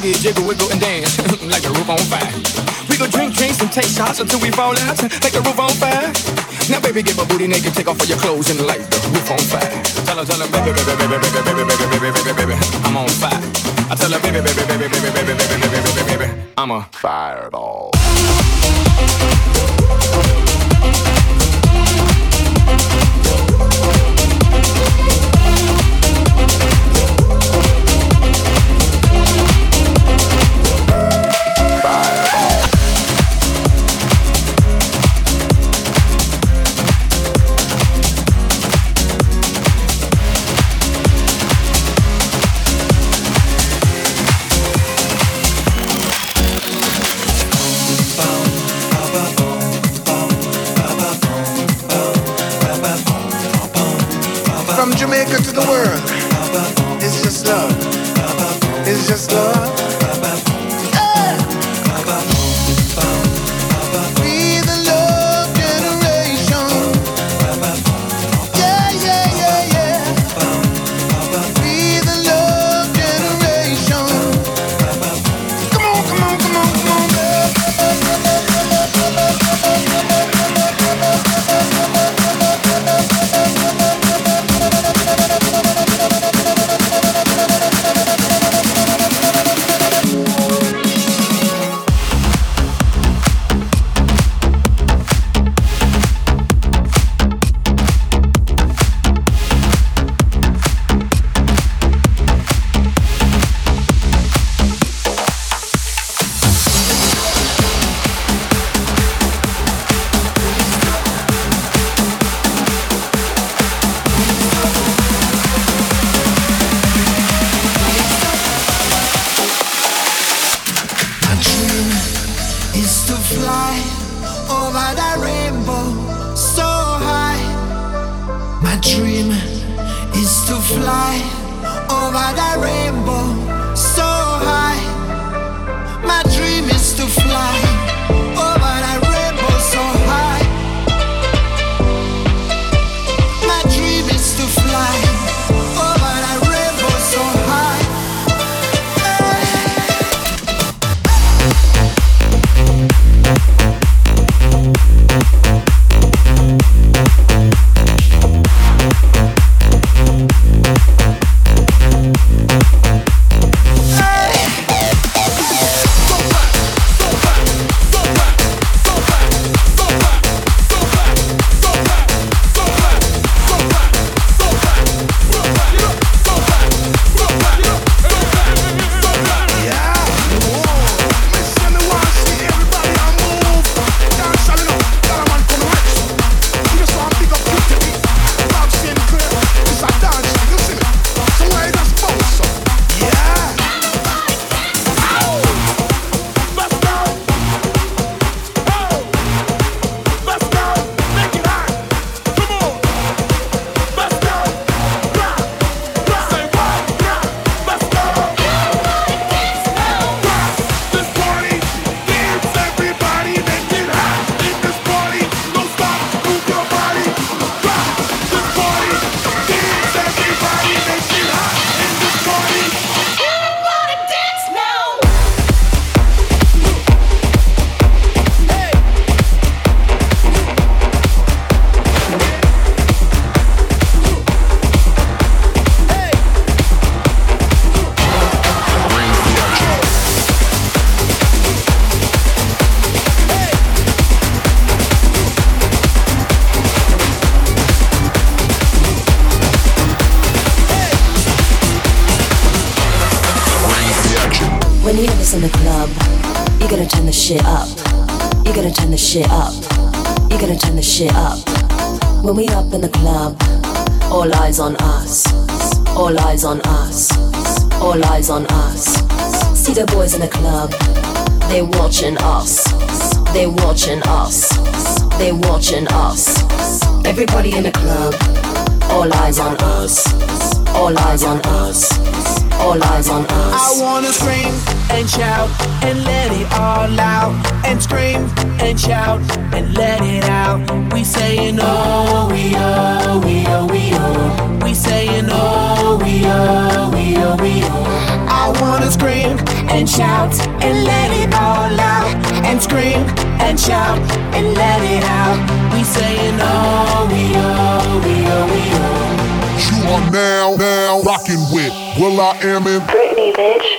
boogie, jiggle, wiggle, and dance like the roof on fire. We go drink drinks and take shots until we fall out like the roof on fire. Now baby, get my booty naked, take off all your clothes and light the roof on fire. Tell her, baby, baby, baby, baby, baby, baby, baby, baby, baby, I'm on fire. I tell her, baby, baby, baby, baby, baby, baby, baby, baby, baby, I'm a fireball. From Jamaica to the world, it's just love. It's just love. Hey! We the love generation. Yeah, yeah, yeah, yeah. We the love generation. Come on, come on, come on, come on. When you have this in the club, you gotta turn the shit up. You gotta turn the shit up. You gotta turn the shit up. When we up in the club, all eyes on us. All eyes on us. All eyes on us. See the boys in the club, they watching us. They watching us. They watching us. Everybody in the club, all eyes on us. All eyes on us. All eyes on us. I wanna scream and shout and let it all out. And scream and shout and let it out. We saying oh, we oh, we oh, we oh. We saying oh, we oh, we oh, we oh. I wanna scream and shout and let it all out. And scream and shout and let it out. We saying oh, we oh, we oh, we oh. You are now rocking with will.i.am in Britney, bitch.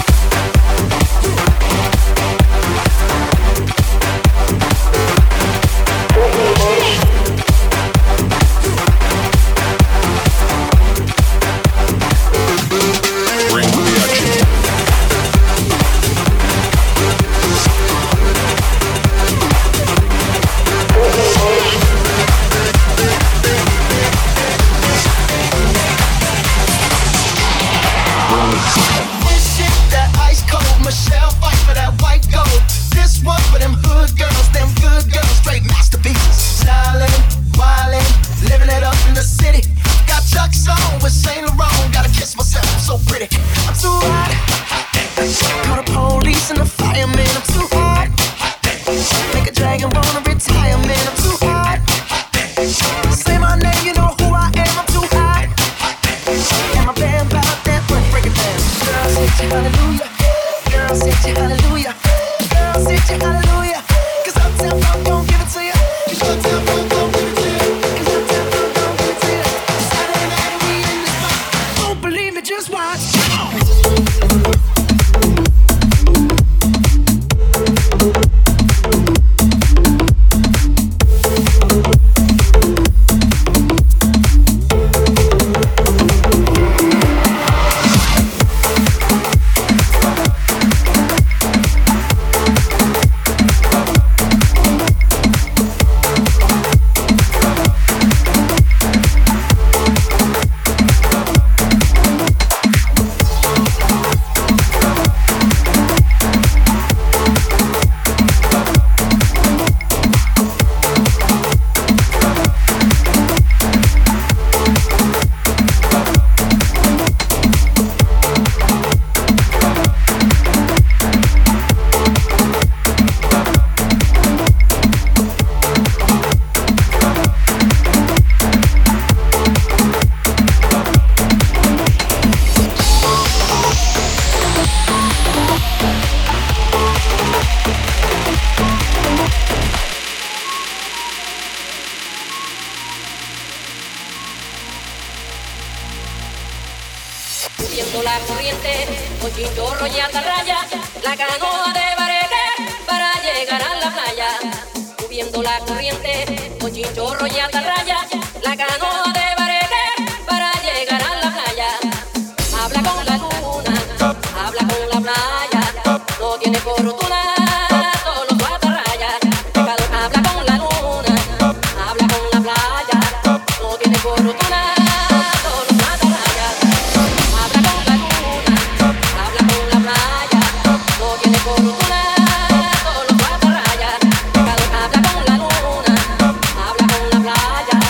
Subiendo la corriente, con chinchorro y atarraya, la canoa de barete para llegar a la playa. Subiendo la corriente, con chinchorro y atarraya, la canoa de barete para llegar a la playa. Habla con la luna, habla con la playa, no tiene fortuna, solo su atarraya. Habla con la luna, habla con la playa, no tiene fortuna. Habla con la luna, habla con la playa.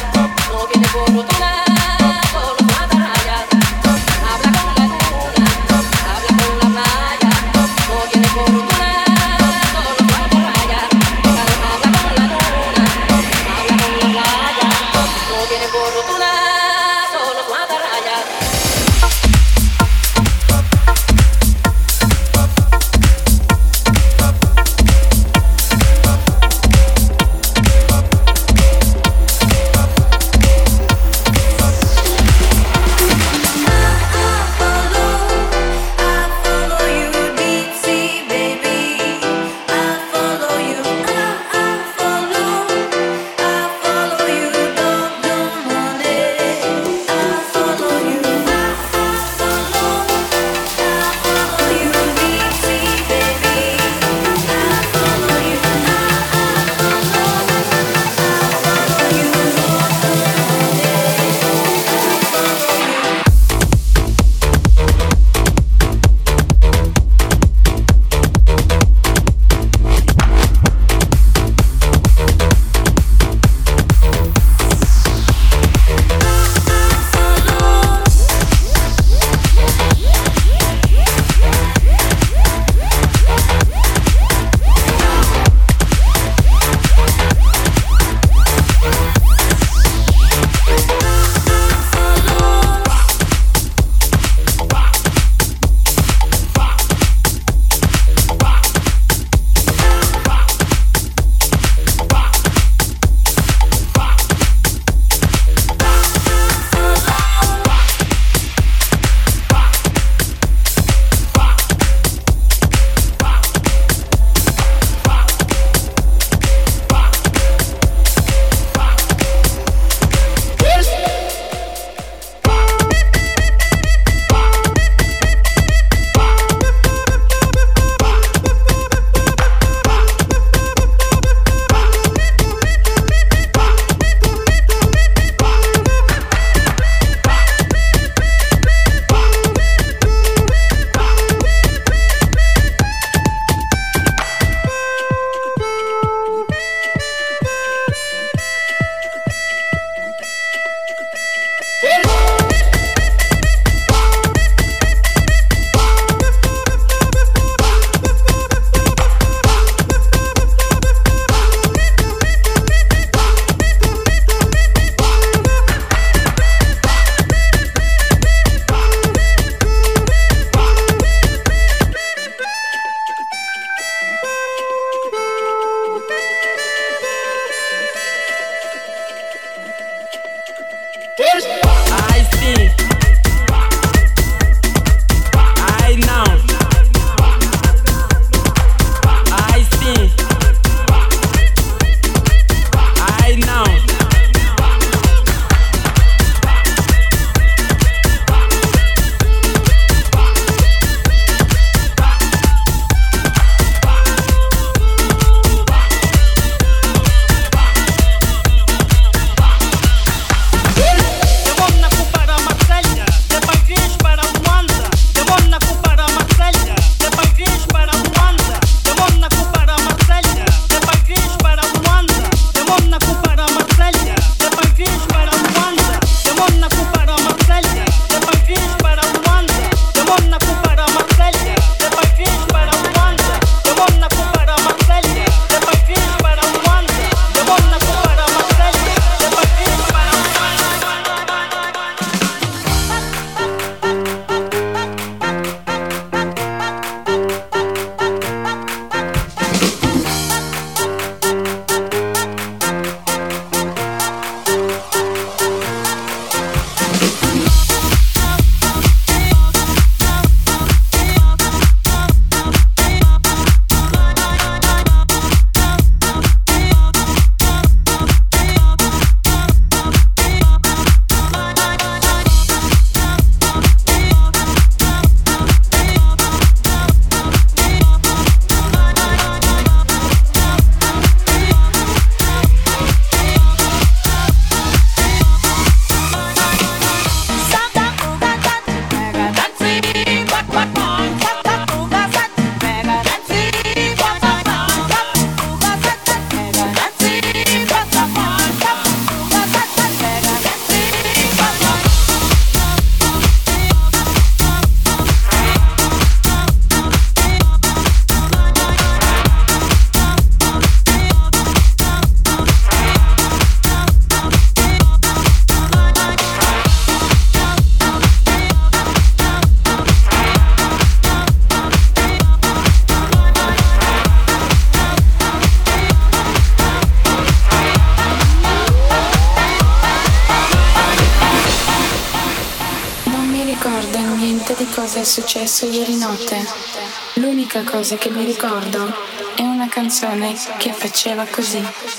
successo ieri notte. L'unica cosa che mi ricordo è una canzone che faceva così.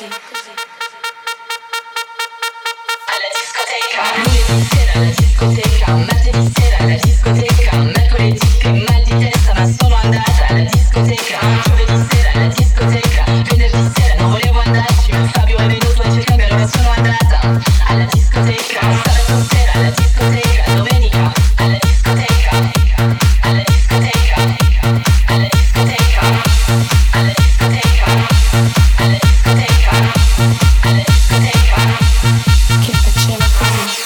Lunedì sera alla discoteca, martedì sera alla discoteca, mercoledì che mal di testa ma sono andata alla discoteca, giovedì sera alla discoteca, venerdì sera non volevo andarci ma Fabio è venuto a cercarmi allora sono andata alla discoteca, sabato sera alla discoteca, domenica alla discoteca, alla discoteca, alla discoteca, alla discoteca, alla discoteca, alla discoteca, che faceva così.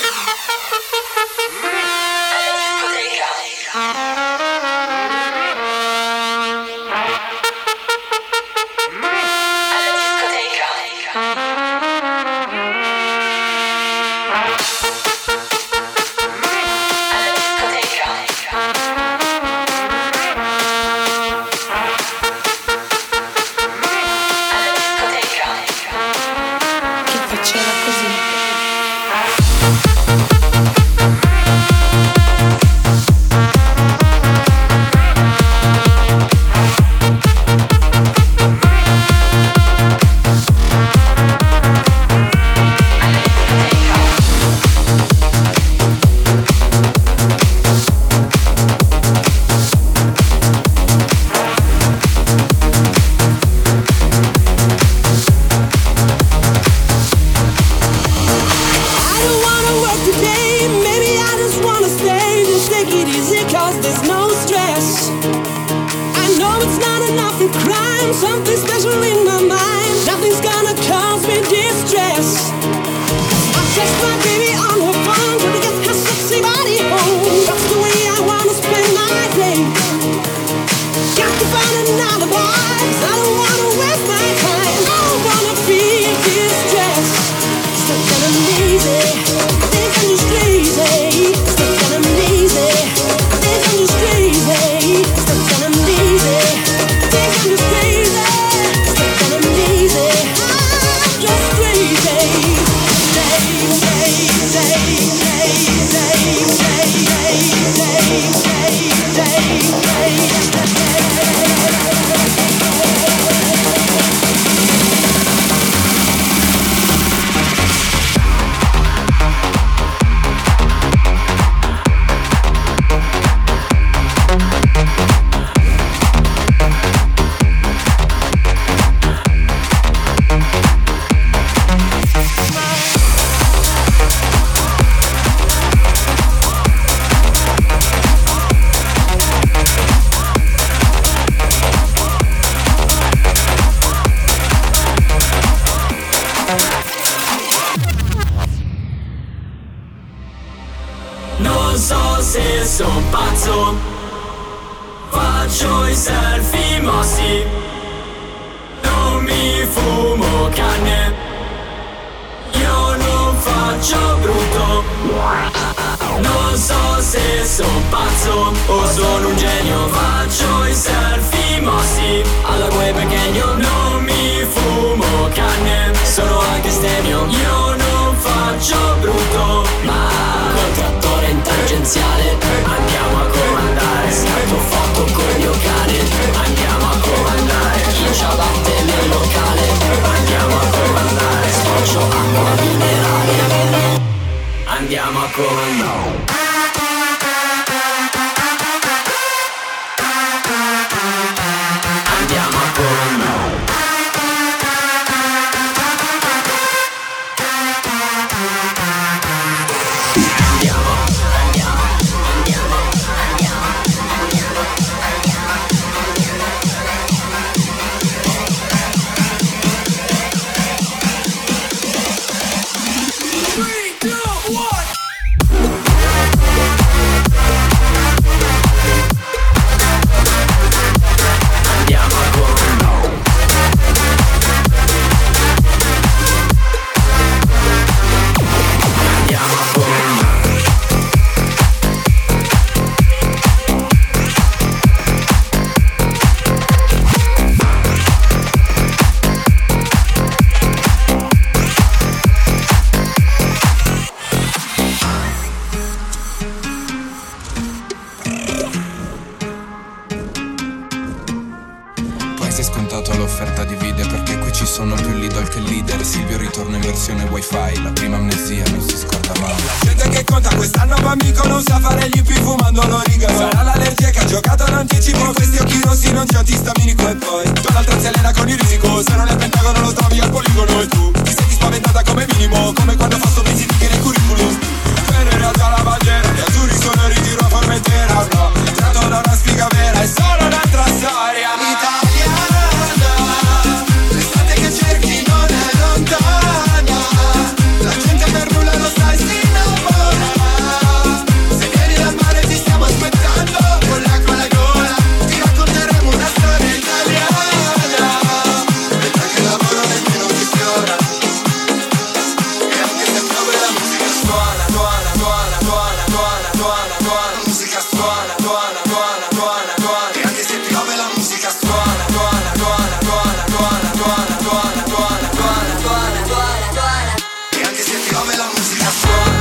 Ormai sei scontato all'offerta di vide, perché qui ci sono più l'idol che leader. Silvio ritorna in versione wifi, la prima amnesia non si scorda mai. La gente che conta quest'anno bambino non sa fare gli più fumando l'origano. Sarà l'allergia che ha giocato in anticipo, questi occhi rossi non c'è antistaminico. E poi tu l'altra zelena con il risico, se non è Pentagono lo trovi al poligono. E tu ti senti spaventata come minimo, come quando fasto visitiche nei curriculum. Però in realtà la bandiera, gli azzurri sono in ritiro a Formentera. No, tratto da una sfiga vera, è solo un'altra storia italiana. L'estate che cerchi non è lontana, la gente per nulla lo sai si innamora. Se vieni dal mare ti stiamo aspettando, con l'acqua alla gola ti racconteremo una storia italiana. Mentre che lavoro nemmeno ti fiora, e anche se piove la musica suona, suona, suona, suona, suona, suona, suona. La musica suona, suona, suona, suona, suona. E anche se piove la musica suona, suona, suona, suona, suona, suona, suona, suona, suona, suona, suona, suona. E anche se piove la musica suona.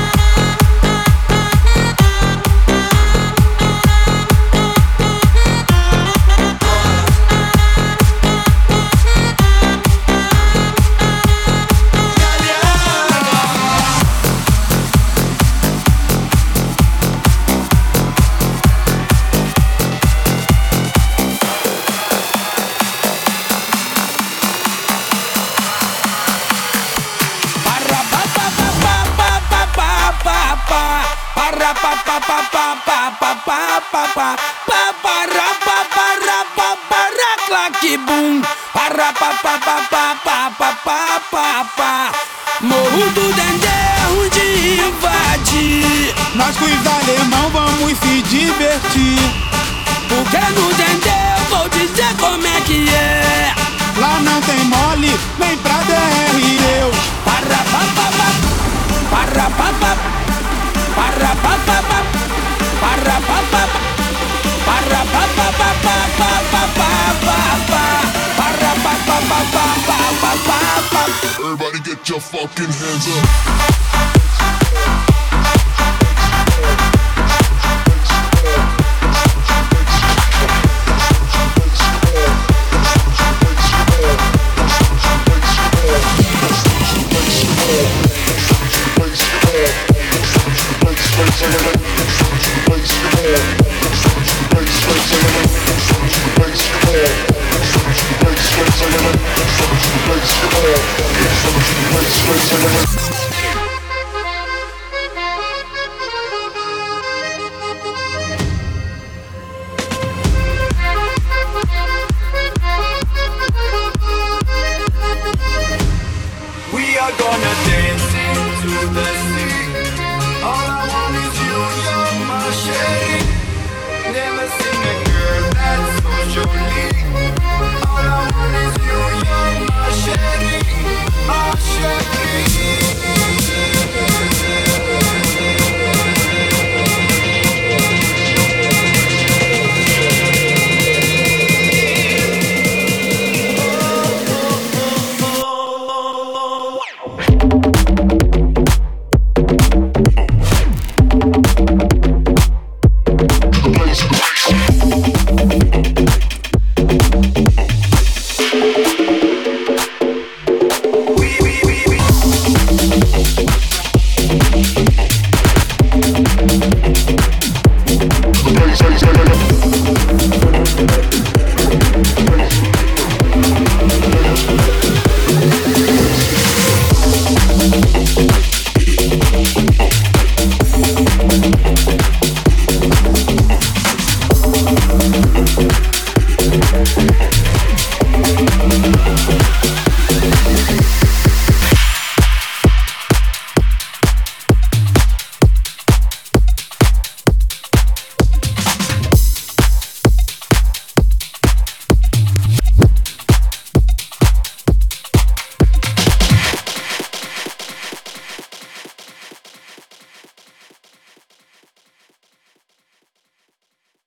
Morro do Dendê, onde invadir. Nós com os alemão vamos se divertir. Porque no Dendê eu vou dizer como é que é. Lá não tem mole, nem pra DR eu. Parapapapá, parapapapá, parapapapá, parapapapá, parapapapá. Everybody get your fucking hands up. Bass,